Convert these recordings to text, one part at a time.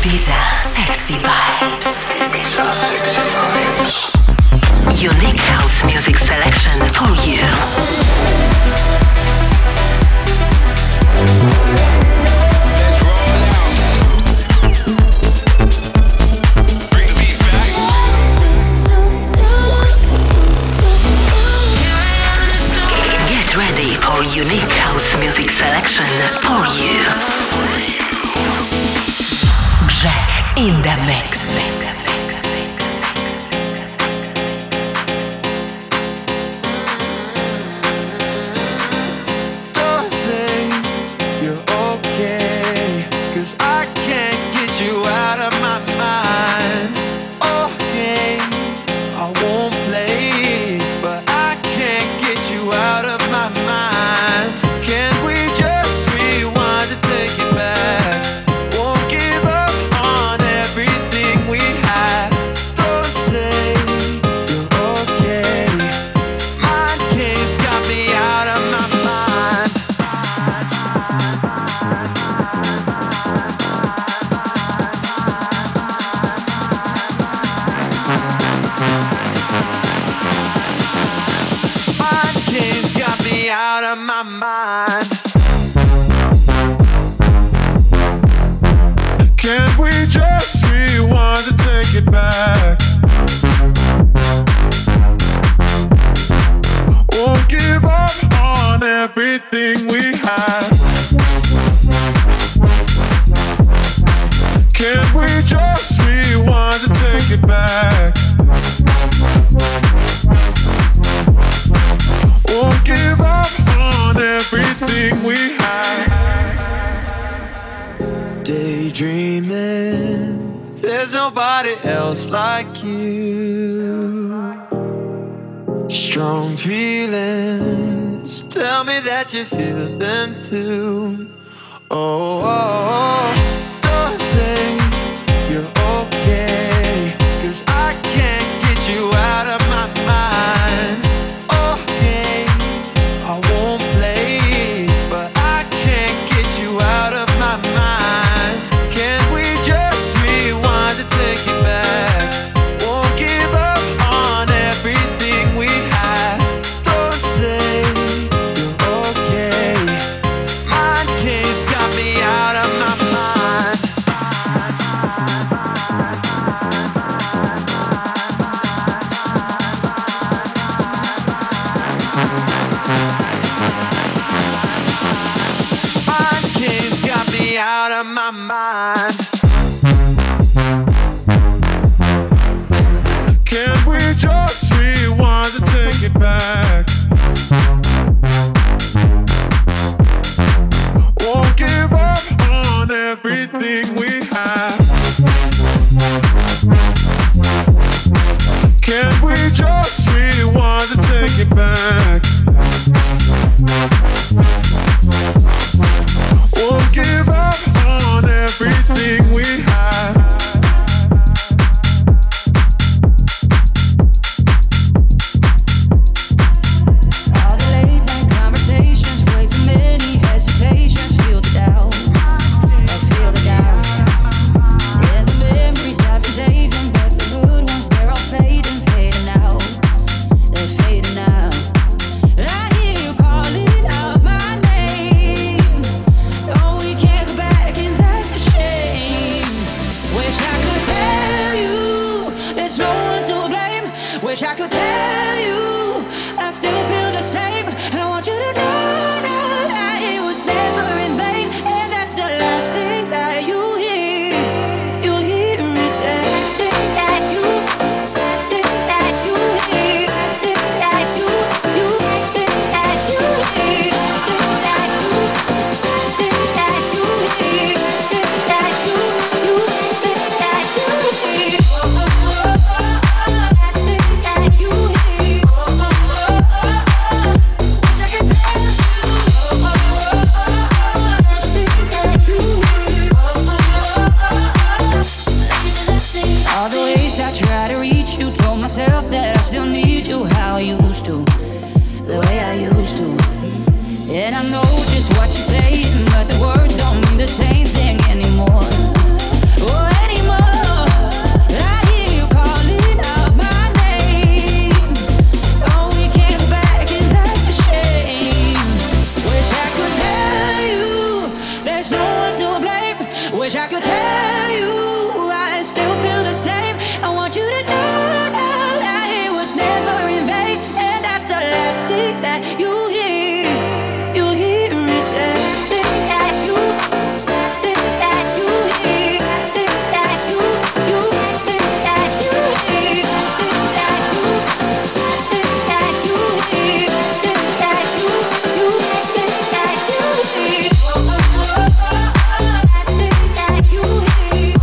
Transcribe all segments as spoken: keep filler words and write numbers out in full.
Ibiza Sexy Vibes. Ibiza Sexy Vibes. Unique house music selection for you. For unique house music selection for you. Grzech in the mix. Don't say you're okay, 'cause I can't get you out of my mind. Oh, games I won't play, but I can't get you out of my mind. Can we just rewind to take it back? Won't give up on everything we had. Don't say you're okay. Mind games got me out of my mind. Mind games got me out of my mind. Can't we just rewind to take it back? Won't give up on everything we had. Can't we just rewind to take it back? Won't give up on everything we had. Daydreaming, there's nobody else like you. Strong feelings, tell me that you feel them too. Oh, oh, oh. Don't say you're okay, 'cause I can't get you out of my mind. Oh, games I won't play, but I can't get you out of my mind. Can we just rewind to take it back? Won't give up on everything we had. Don't say you're okay. Mind games got me out of my mind. Mind games got me out of my mind. Can we just rewind to take it back? Won't give up on everything we have. Can we just rewind to take it back? Won't give up on everything we have. All the late night conversations, way too many hesitations. Feel the doubt, I feel the doubt. Yeah, the memories I've been saving, but the good ones, they're all fading, fading out. They're fading out. I hear you calling out my name. Oh, we can't go back, and that's a shame. Wish I could tell you there's no one to blame. Wish I could tell you I still feel the same. I want you to know now that it was never in vain, and that's the last thing that you hear. You hear me say. Last thing that you, last thing that you hear. Last thing that you, you, last thing that you hear. Last thing that you, last thing that you hear. Last thing that you, you, last thing that you hear. Last thing that you hear. Wish I could tell you. Last thing that you hear. All the ways I try to reach you, told myself that I still need you how I used to, the way I used to. And I know just what you're saying, but the words don't mean the same thing anymore. Oh, Wish I could tell you I still feel the same. I want you to know, know that it was never in vain. And that's the last thing that you hear. You hear me say. Last thing that you, last thing that you hear. Last thing that you, you, last thing that you hear. Last thing that you, last thing that you hear. Last thing that you, you, last thing that you hear. Last thing that you hear.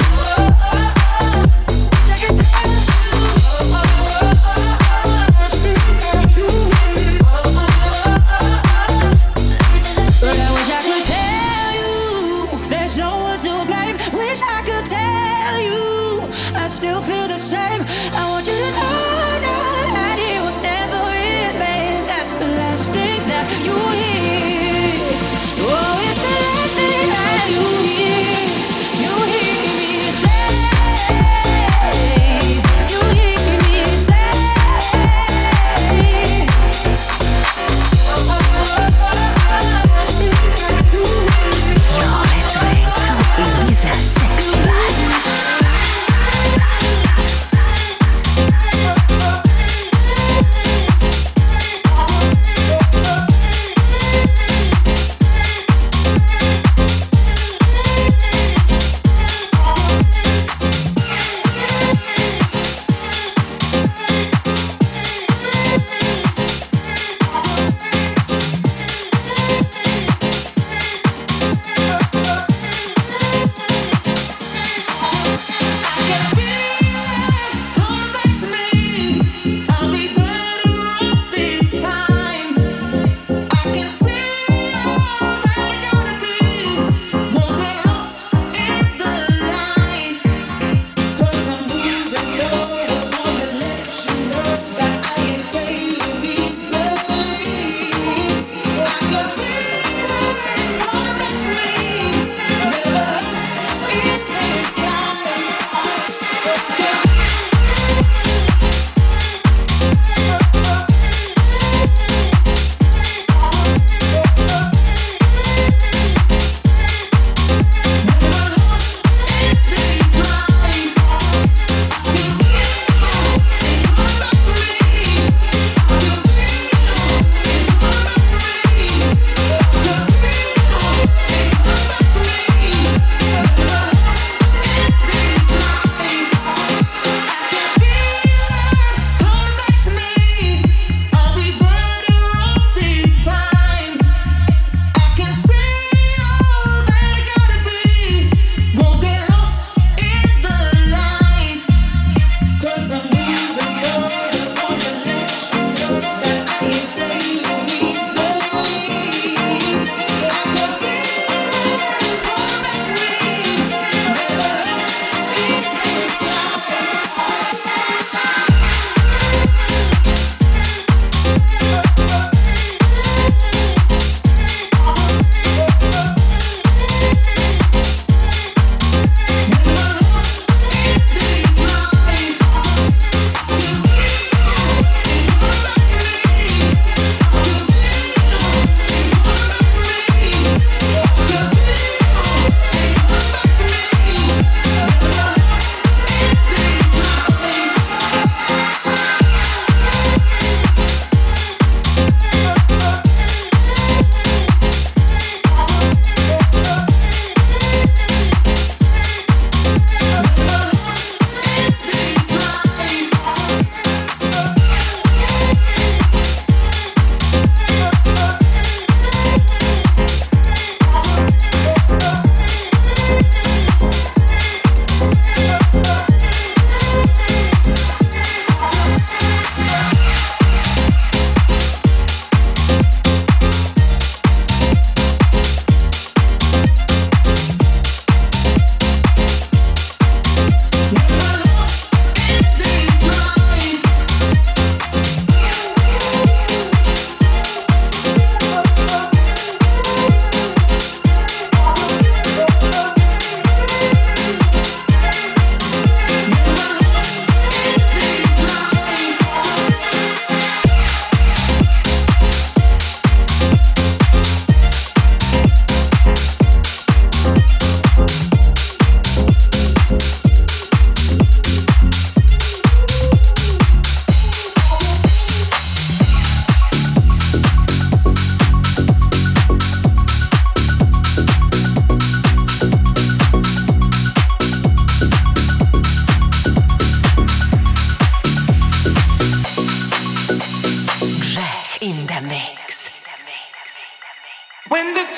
Check it out. Last thing that you hear. But I wish I could tell you there's no one to blame. Wish I could tell you I still feel the same. I want you to know, know that it was never in vain. That's the last thing that you hear. Oh, it's the last thing that you hear. You hear me say. You hear me say. Last thing that you hear. You're listening to Ibiza Sexy Vibes.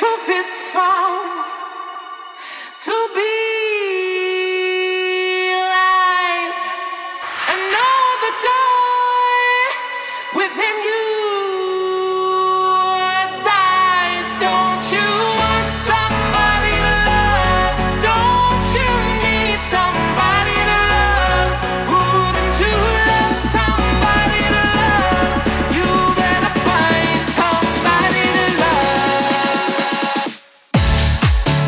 truth is found to be lies, and know the joy within you dies. Don't you want somebody to love? Don't you need somebody to love? Wouldn't you love somebody to love? You better find somebody to love.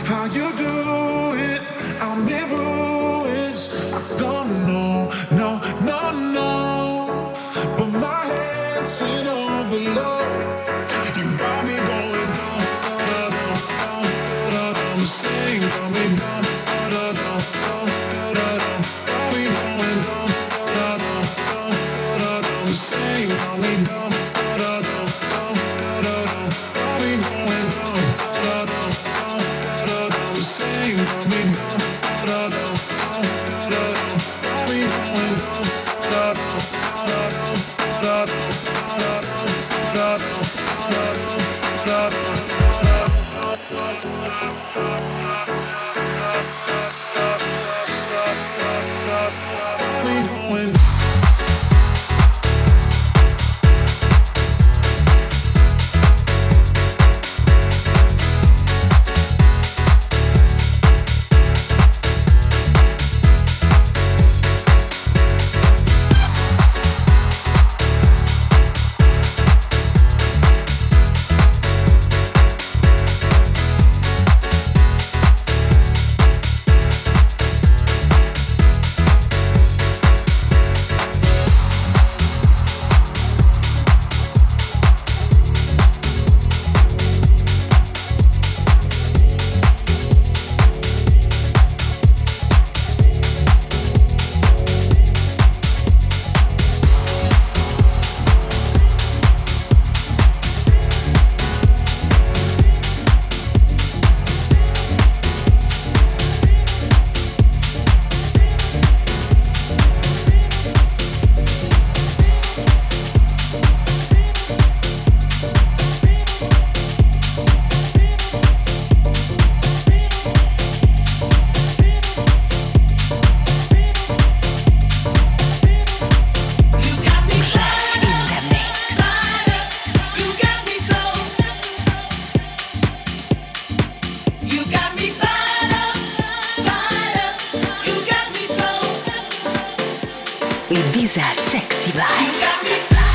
how you do it. I'm in ruins. I don't know, no, no, no. But my head's in overload. You got me going down, da da da da da da. Sing, got me down, da da da da da da. Got me going down, da da da da da da. Sing, got me down, da da da da da da. Got me going down, da da da da da da. Sing, got me down, da da da da da da. Got me going down, da da da da da da. Ibiza Sexy Vibes.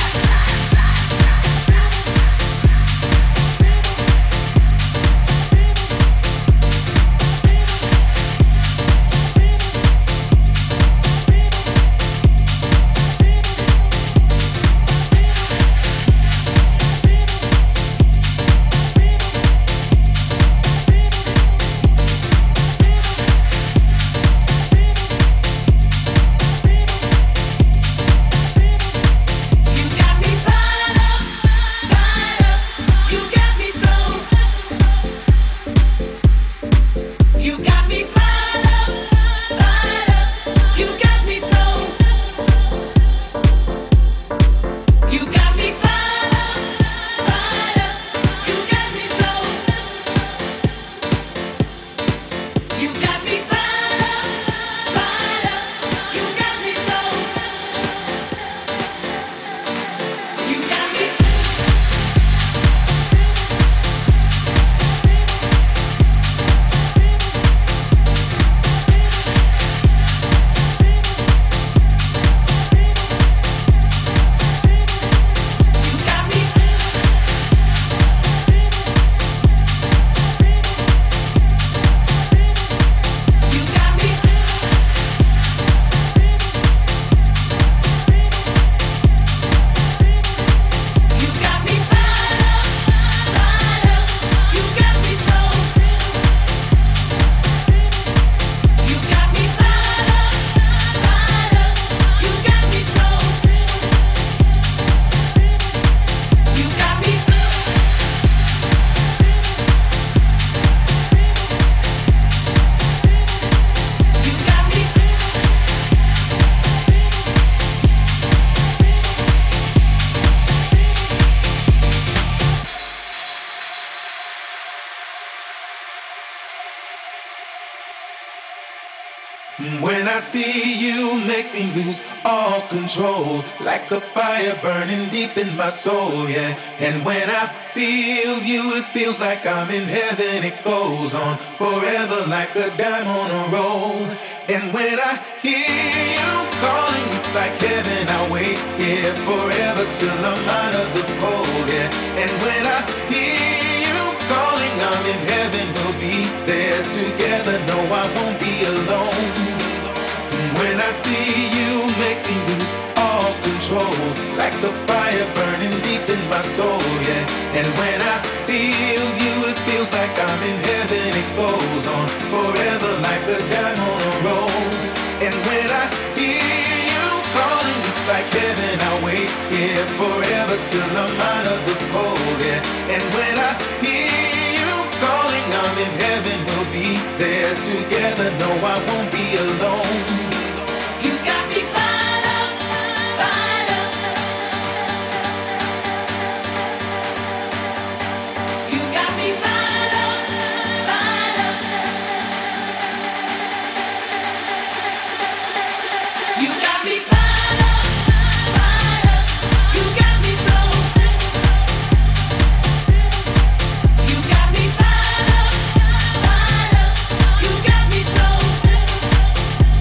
When I see you, make me lose all control, like a fire burning deep in my soul, yeah. And when I feel you, it feels like I'm in heaven. It goes on forever like a dime on a roll. And when I hear you calling, it's like heaven. I wait here forever till I'm out of the cold, yeah. And when I hear you calling, I'm in heaven. We'll be there together. No, I won't be alone. When I see you, make me lose all control, like a fire burning deep in my soul, yeah. And when I feel you, it feels like I'm in heaven. It goes on forever like a dime on a roll. And when I hear you calling, it's like heaven. I'll wait here forever till I'm out of the cold, yeah. And when I hear you calling, I'm in heaven. We'll be there together. No, I won't be alone. You got me fired up, fired up. You got me fired up, fired up. You got me fired up, fired up. You got me so. You got me fired up, fired up. You got me so.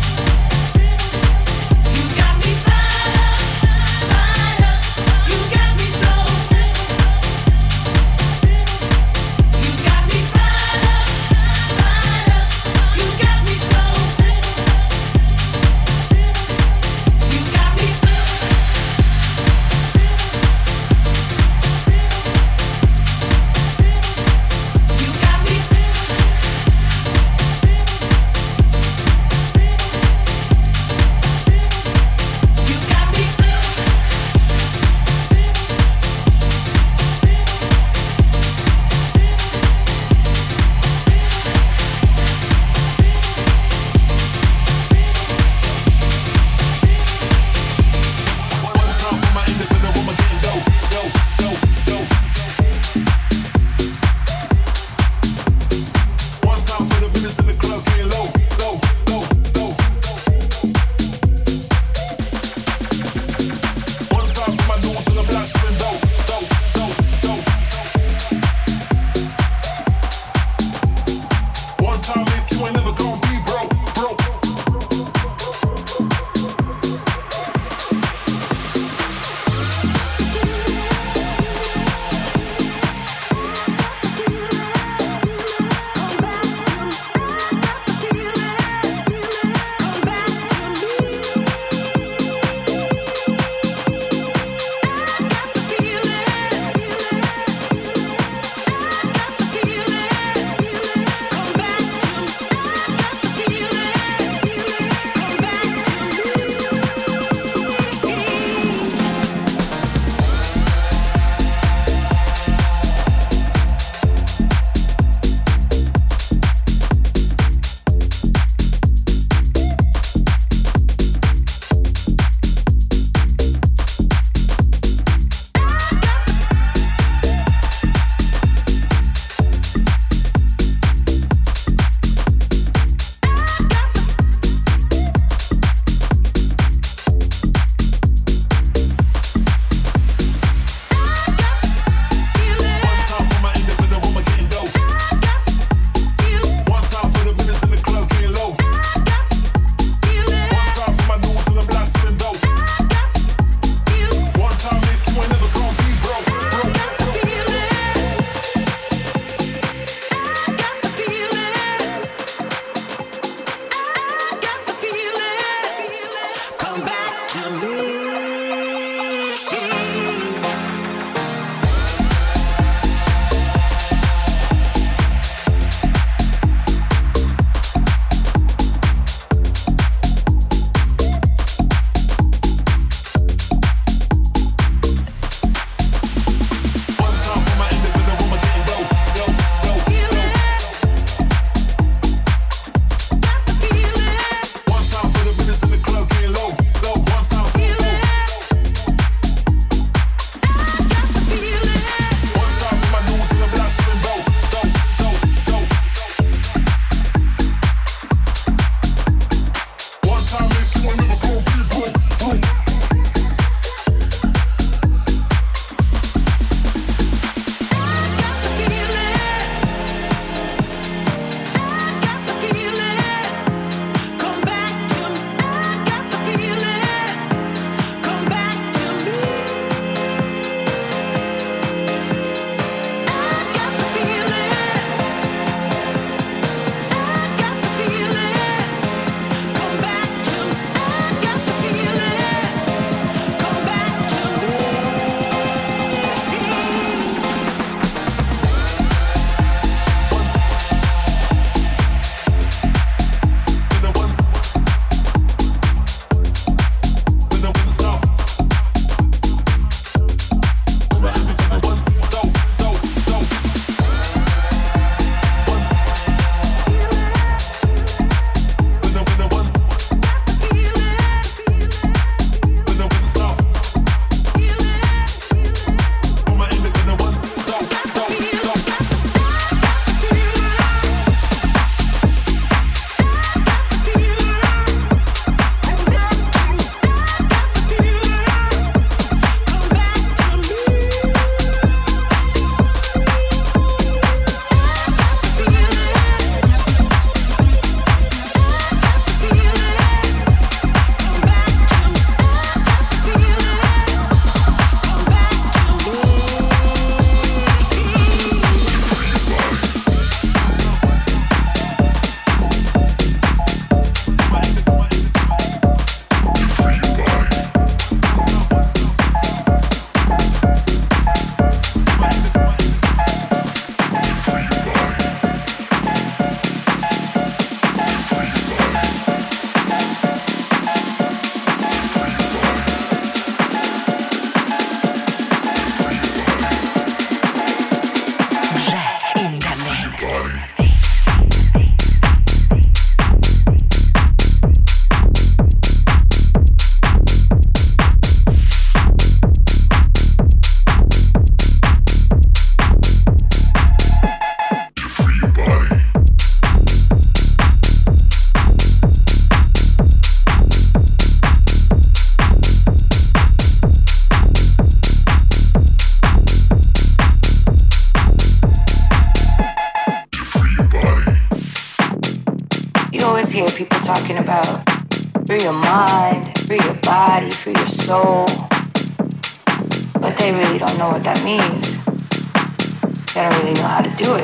always hear people talking about free your mind, free your body, free your soul. But they really don't know what that means. They don't really know how to do it.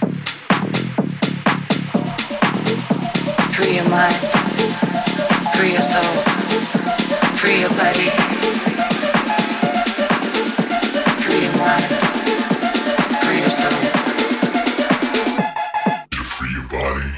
Free your mind, free your soul, free your body. Free your mind, free your soul. You free your body.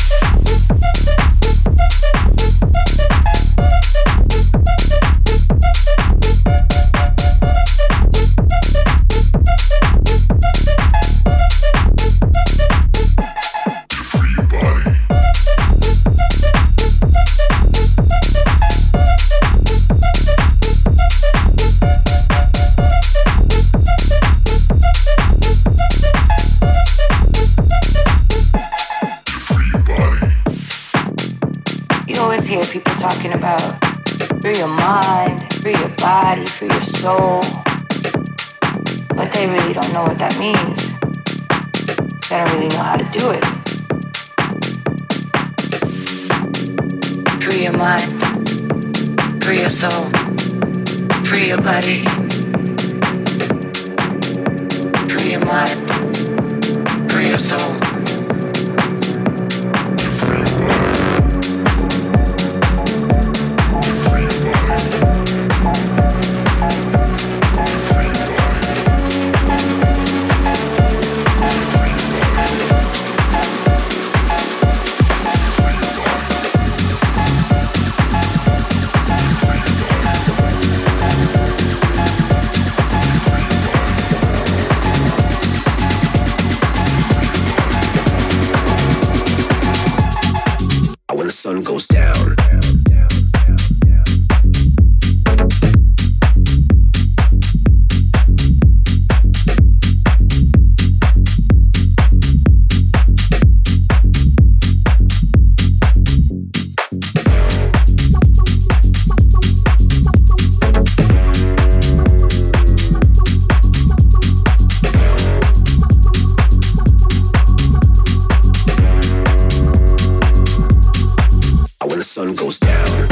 Hear people talking about free your mind, free your body, free your soul. But they really don't know what that means. They don't really know how to do it. Free your mind, free your soul, free your body. Free your mind, free your soul. The sun goes down. The sun goes down.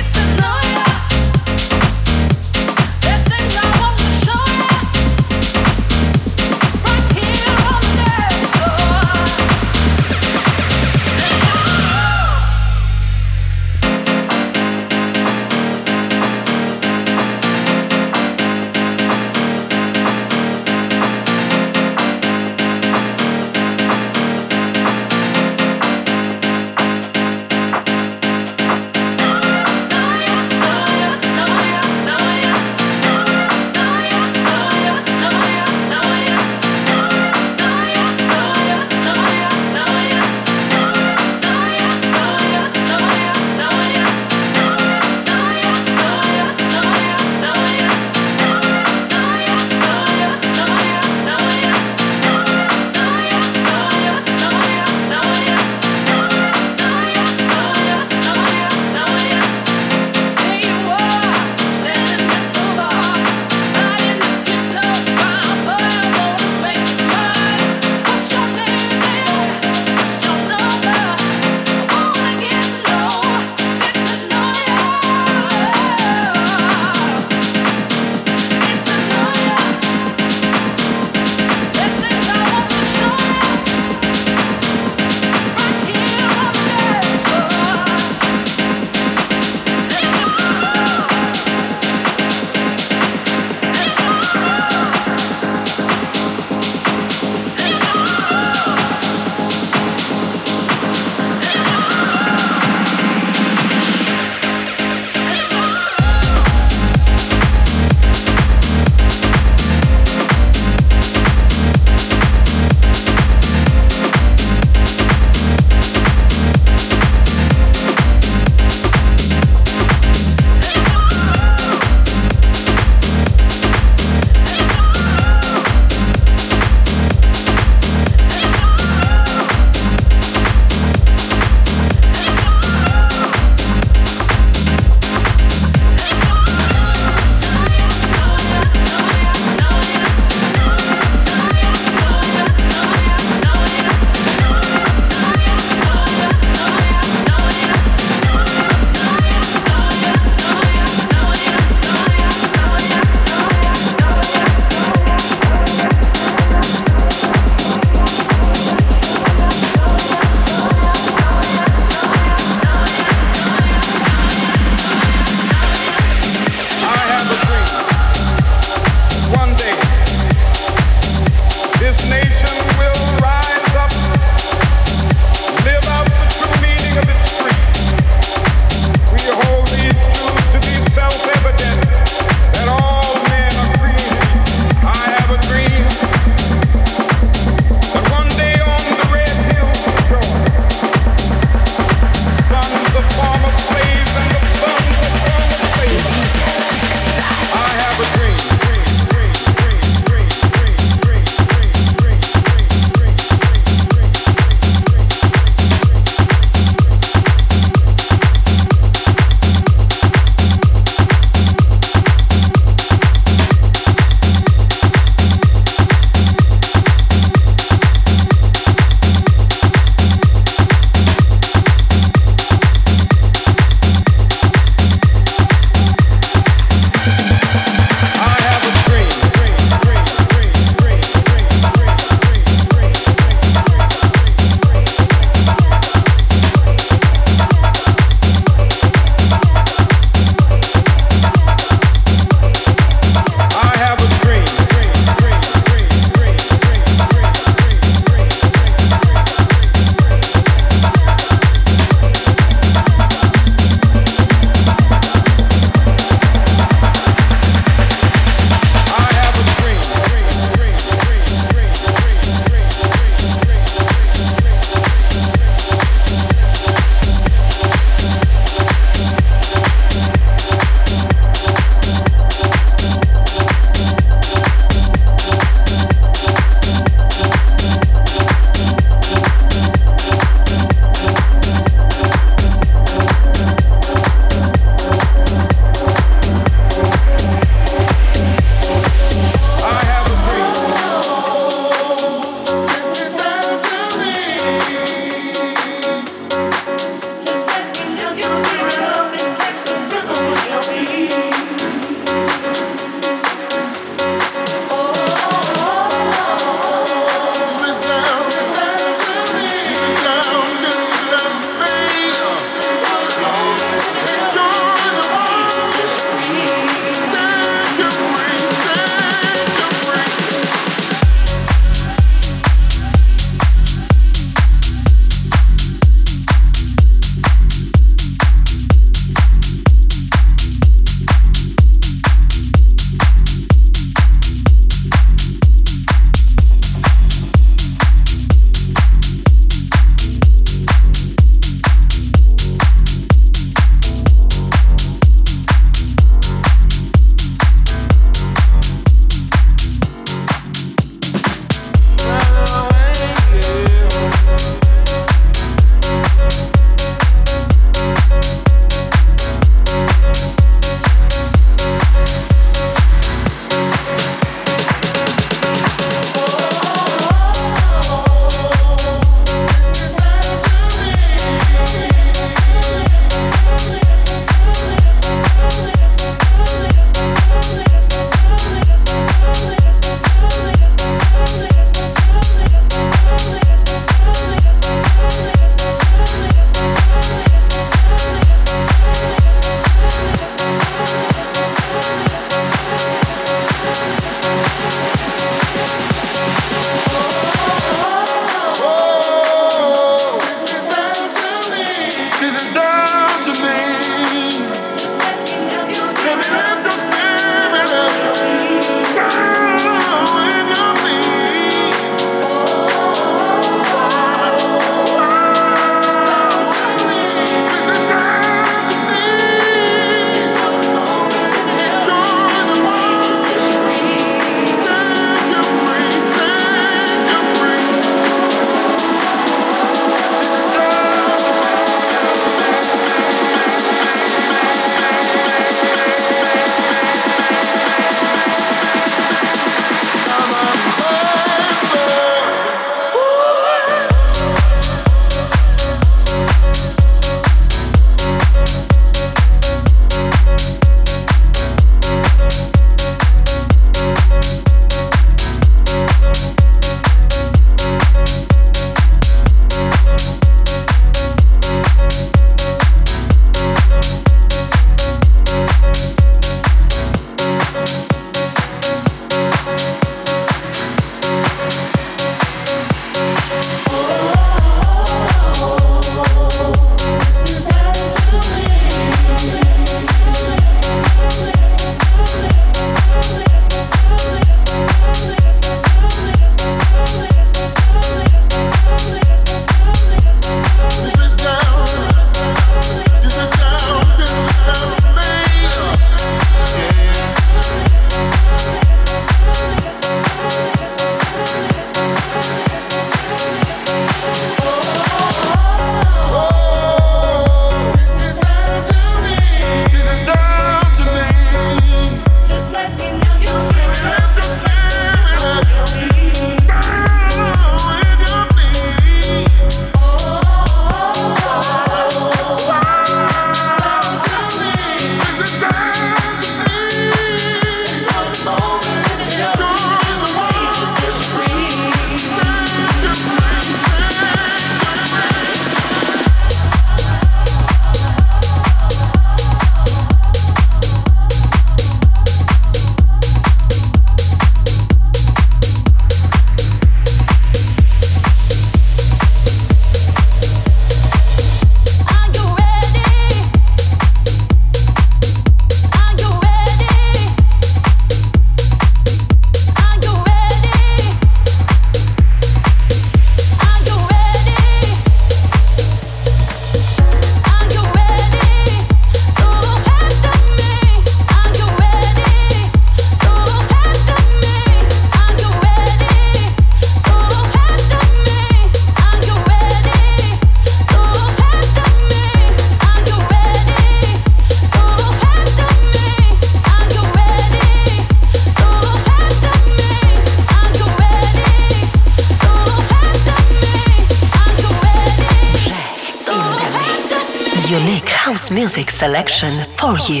house music selection for you.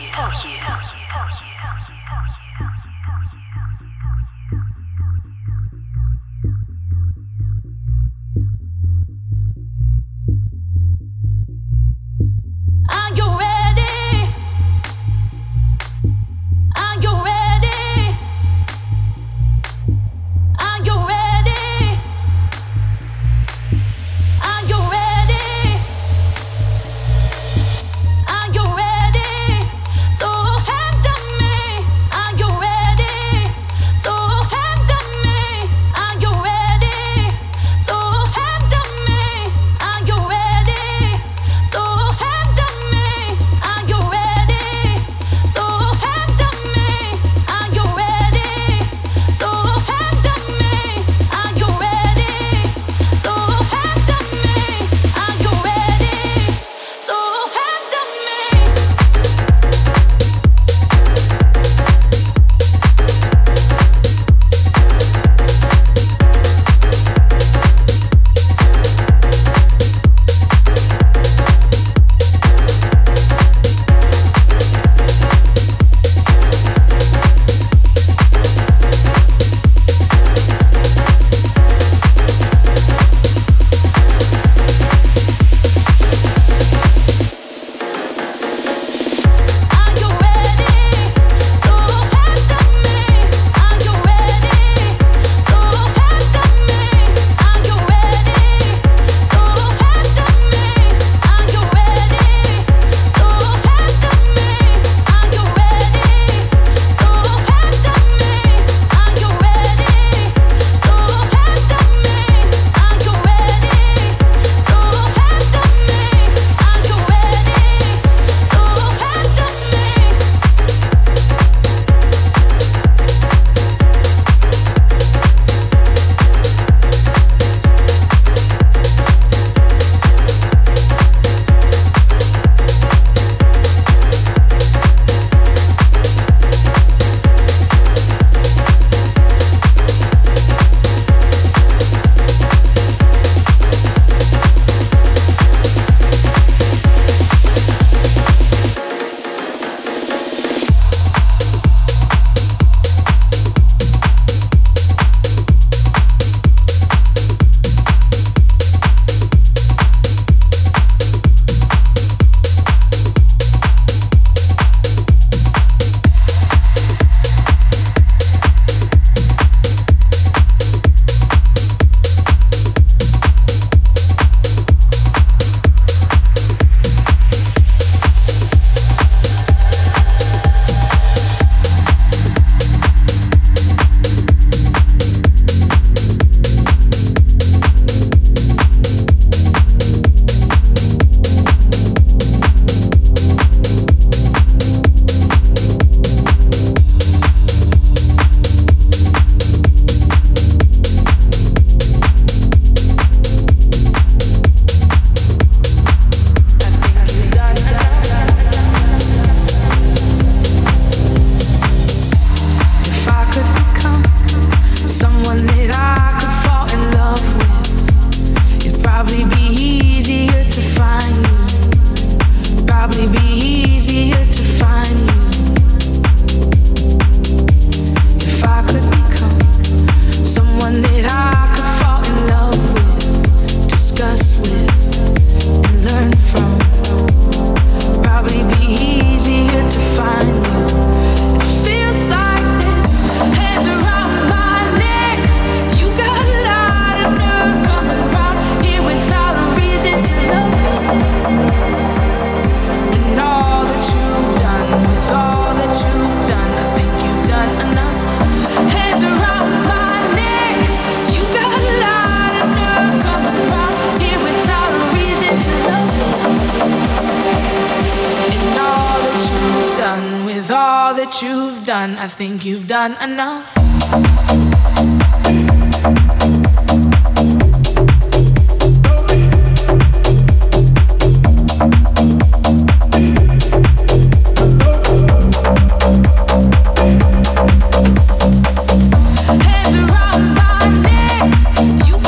That you've done, I think you've done enough.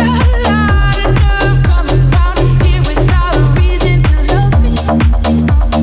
Oh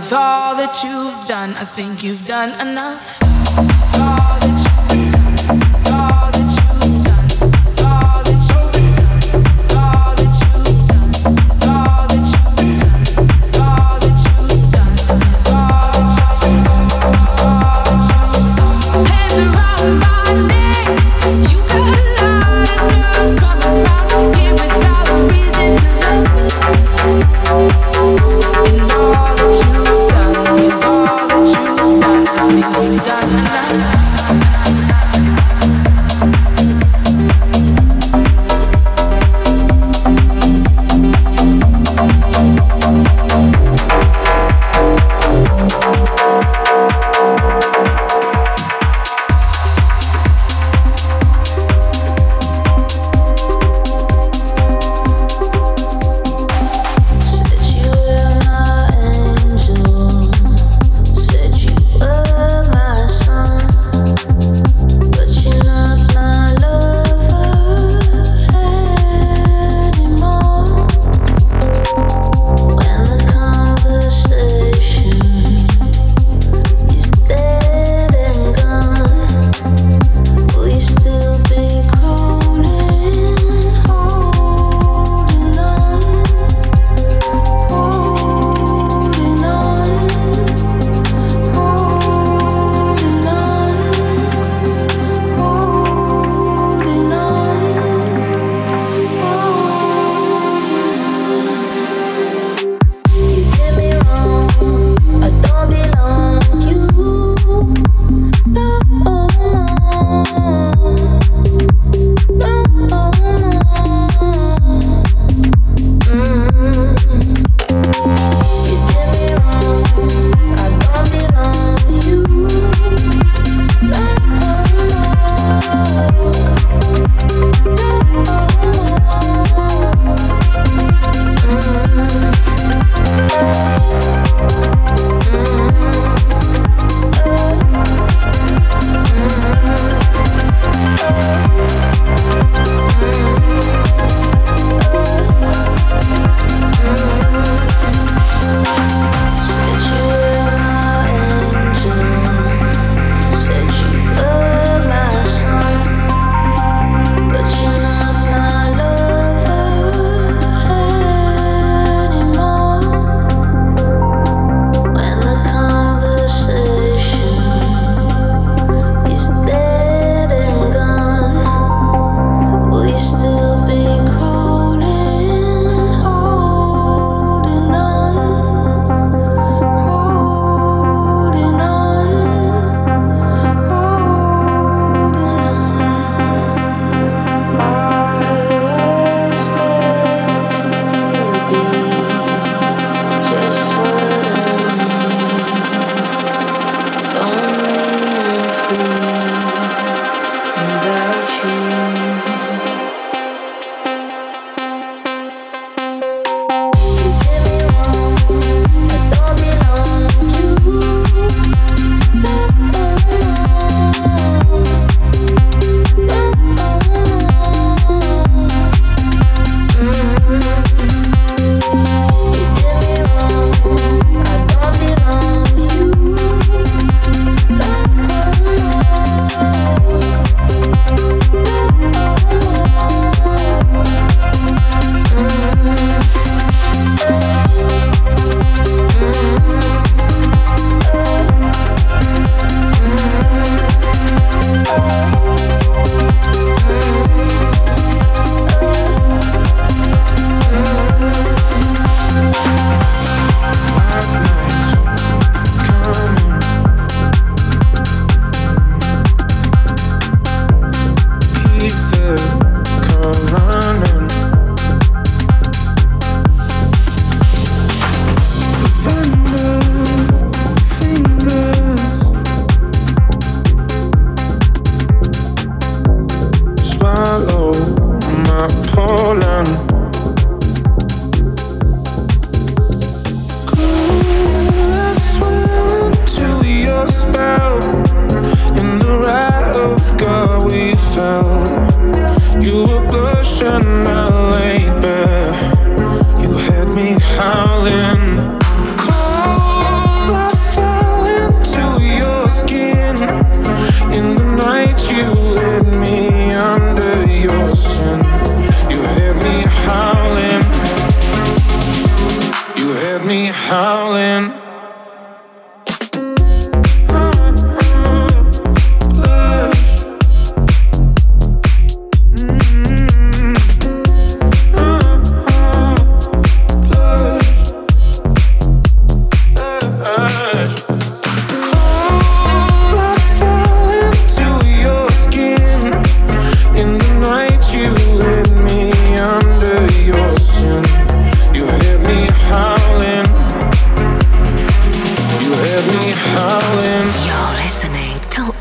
with all that you've done, I think you've done enough. All that you, all that you've done, all that you've done, all that you've done, all that you've done, all that you've done, all that you've done. Hands around my neck, you got a lot of nerve coming round here without a reason to love me. And all that you've done, with all that you've done, I think you've done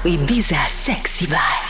Ibiza Sexy Vibe.